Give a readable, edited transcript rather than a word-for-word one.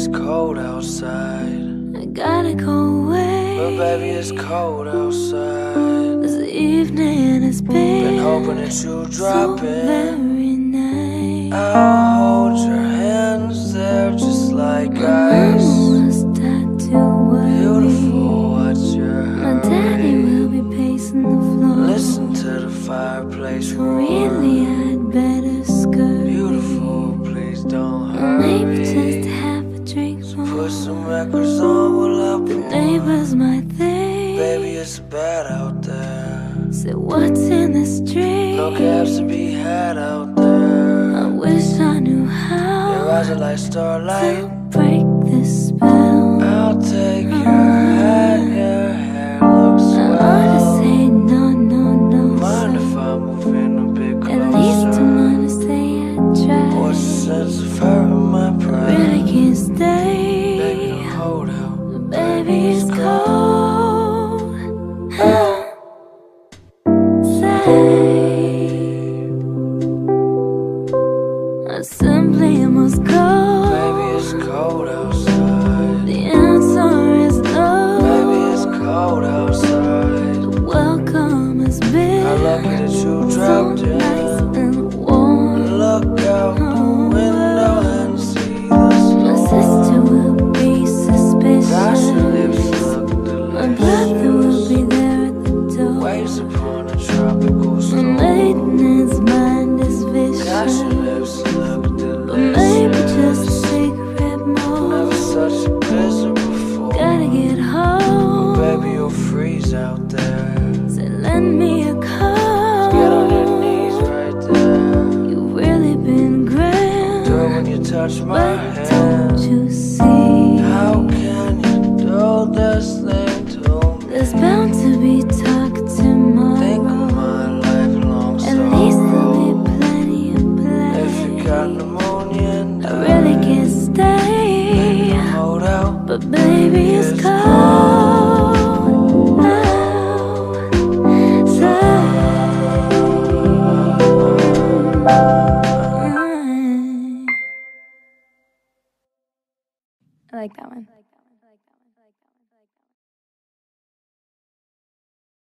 it's cold outside. I gotta go away, But baby, it's cold outside. this evening has Been hoping been that you so drop in. very nice. I'll hold your hands, they're just like My ice. mama was tattooed white. Beautiful, what's your My daddy hurry? will be pacing the floor. Listen to the fireplace So roar. really I'd better skirt. Beautiful, please don't Maybe just hurry. have a drink more. Put some records on while I The pour. neighbors might think, Baby, it's bad out there. say what's in this drink? No cabs to be had out there. I wish I knew Your how eyes are like starlight. to break this spell. I'll take your hat, your hair looks I ought to swell. say no, no, no. Mind if I move in a bit At least closer? I'm gonna say I tried. What's the sense of hurting my pride? Really can't stay. Baby, don't hold out. Baby, it's cold. I simply must go. Baby, it's cold outside. The answer is no. Baby, it's cold outside. The welcome has been How lucky that you so dropped nice in. and warm. Look out the window and see the My sister storm. will be Gosh, your lips suspicious. look My brother will delicious. be there at the door. Waves upon a tropical My storm. maiden's mind is Gosh, your vicious. lips look But maybe just a delicious. cigarette more. Never such a blizzard before. Gotta get home. Baby, you'll freeze out there. So lend me a coat. Get on your knees right there. You've really been grand. Do it when you touch my But don't hand. you see? How can you do this thing to There's me? bound to be talk Think tomorrow. of my lifelong At least there'll be sorrow. plenty of If you got play. pneumonia and I really can't Baby, stay. hold out. But baby, it's It's cold now. I like that one.